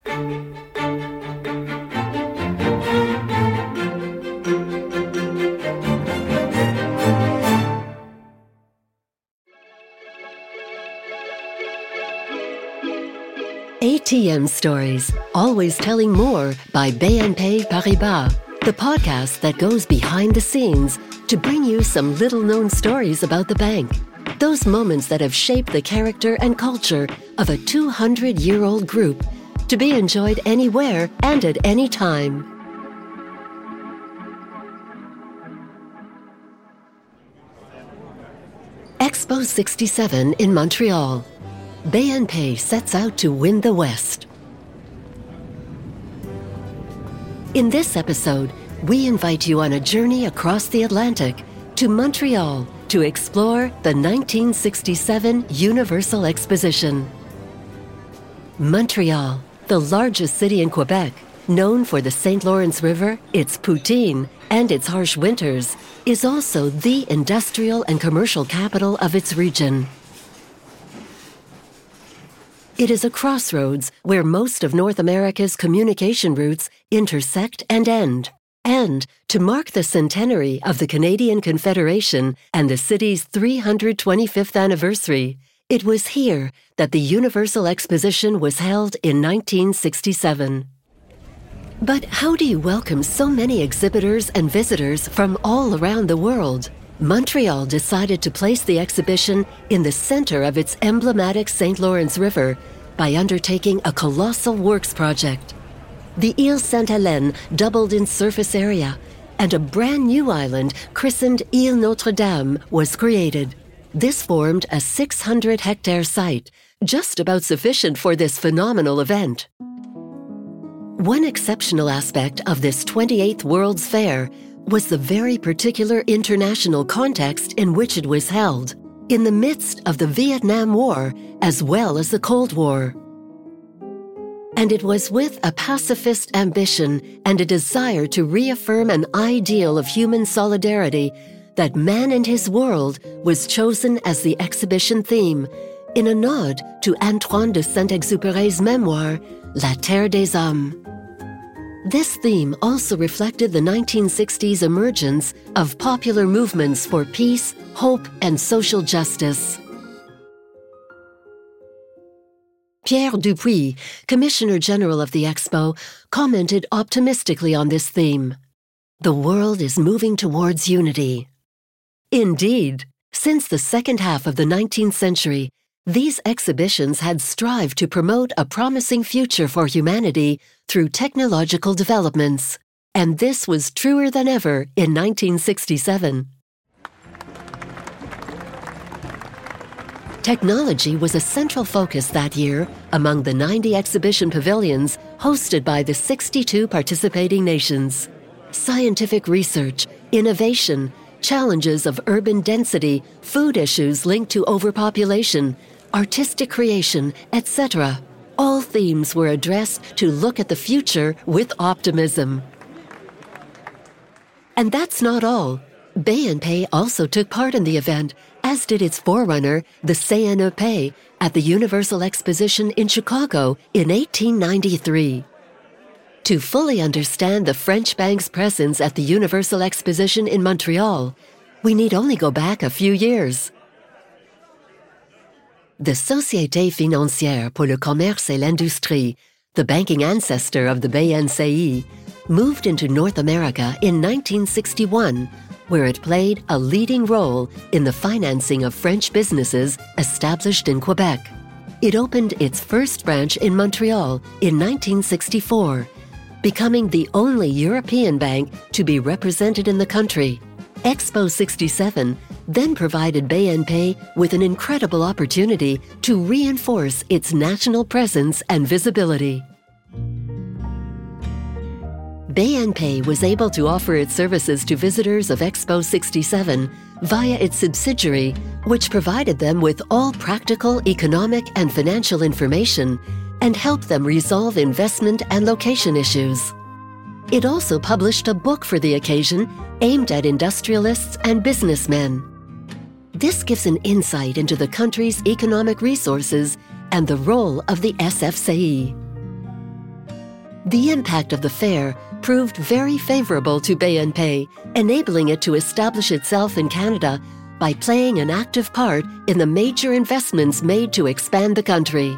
ATM Stories, Always Telling More by BNP Paribas, the podcast that goes behind the scenes to bring you some little-known stories about the bank. Those moments that have shaped the character and culture of a 200-year-old group, to be enjoyed anywhere and at any time. Expo 67 in Montreal. BNP sets out to win the West. In this episode, we invite you on a journey across the Atlantic to Montreal to explore the 1967 Universal Exposition. Montreal, the largest city in Quebec, known for the St. Lawrence River, its poutine, and its harsh winters, is also the industrial and commercial capital of its region. It is a crossroads where most of North America's communication routes intersect and end. And to mark the centenary of the Canadian Confederation and the city's 325th anniversary, it was here that the Universal Exposition was held in 1967. But how do you welcome so many exhibitors and visitors from all around the world? Montreal decided to place the exhibition in the center of its emblematic St. Lawrence River by undertaking a colossal works project. The Ile Sainte-Hélène doubled in surface area, and a brand new island christened Ile Notre-Dame was created. This formed a 600-hectare site, just about sufficient for this phenomenal event. One exceptional aspect of this 28th World's Fair was the very particular international context in which it was held, in the midst of the Vietnam War as well as the Cold War. And it was with a pacifist ambition and a desire to reaffirm an ideal of human solidarity that Man and His World was chosen as the exhibition theme, in a nod to Antoine de Saint-Exupéry's memoir, La Terre des Hommes. This theme also reflected the 1960s emergence of popular movements for peace, hope, and social justice. Pierre Dupuis, Commissioner General of the Expo, commented optimistically on this theme. The world is moving towards unity. Indeed, since the second half of the 19th century, these exhibitions had strived to promote a promising future for humanity through technological developments, and this was truer than ever in 1967. Technology was a central focus that year among the 90 exhibition pavilions hosted by the 62 participating nations. Scientific research, innovation, challenges of urban density, food issues linked to overpopulation, artistic creation, etc. All themes were addressed to look at the future with optimism. And that's not all. BNP also took part in the event, as did its forerunner, the CNEP, at the Universal Exposition in Chicago in 1893. To fully understand the French bank's presence at the Universal Exposition in Montreal, we need only go back a few years. The Société Financière pour le Commerce et l'Industrie, the banking ancestor of the BNCI, moved into North America in 1961, where it played a leading role in the financing of French businesses established in Quebec. It opened its first branch in Montreal in 1964, becoming the only European bank to be represented in the country. Expo 67 then provided BNP with an incredible opportunity to reinforce its national presence and visibility. BNP was able to offer its services to visitors of Expo 67 via its subsidiary, which provided them with all practical, economic, and financial information and helped them resolve investment and location issues. It also published a book for the occasion aimed at industrialists and businessmen. This gives an insight into the country's economic resources and the role of the SFCE. The impact of the fair proved very favorable to BNP, enabling it to establish itself in Canada by playing an active part in the major investments made to expand the country.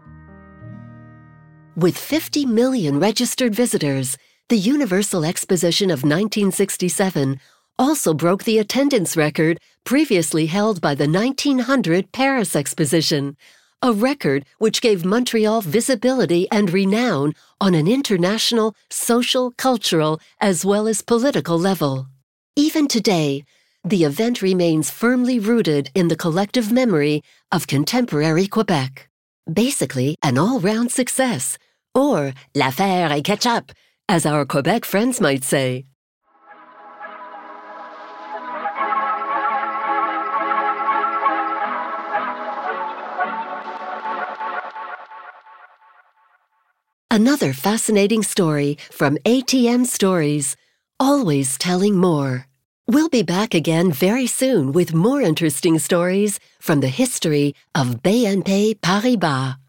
With 50 million registered visitors, the Universal Exposition of 1967 also broke the attendance record previously held by the 1900 Paris Exposition, a record which gave Montreal visibility and renown on an international, social, cultural, as well as political level. Even today, the event remains firmly rooted in the collective memory of contemporary Quebec. Basically, an all-round success, or l'affaire est ketchup, as our Quebec friends might say. Another fascinating story from ATM Stories, always telling more. We'll be back again very soon with more interesting stories from the history of BNP Paribas.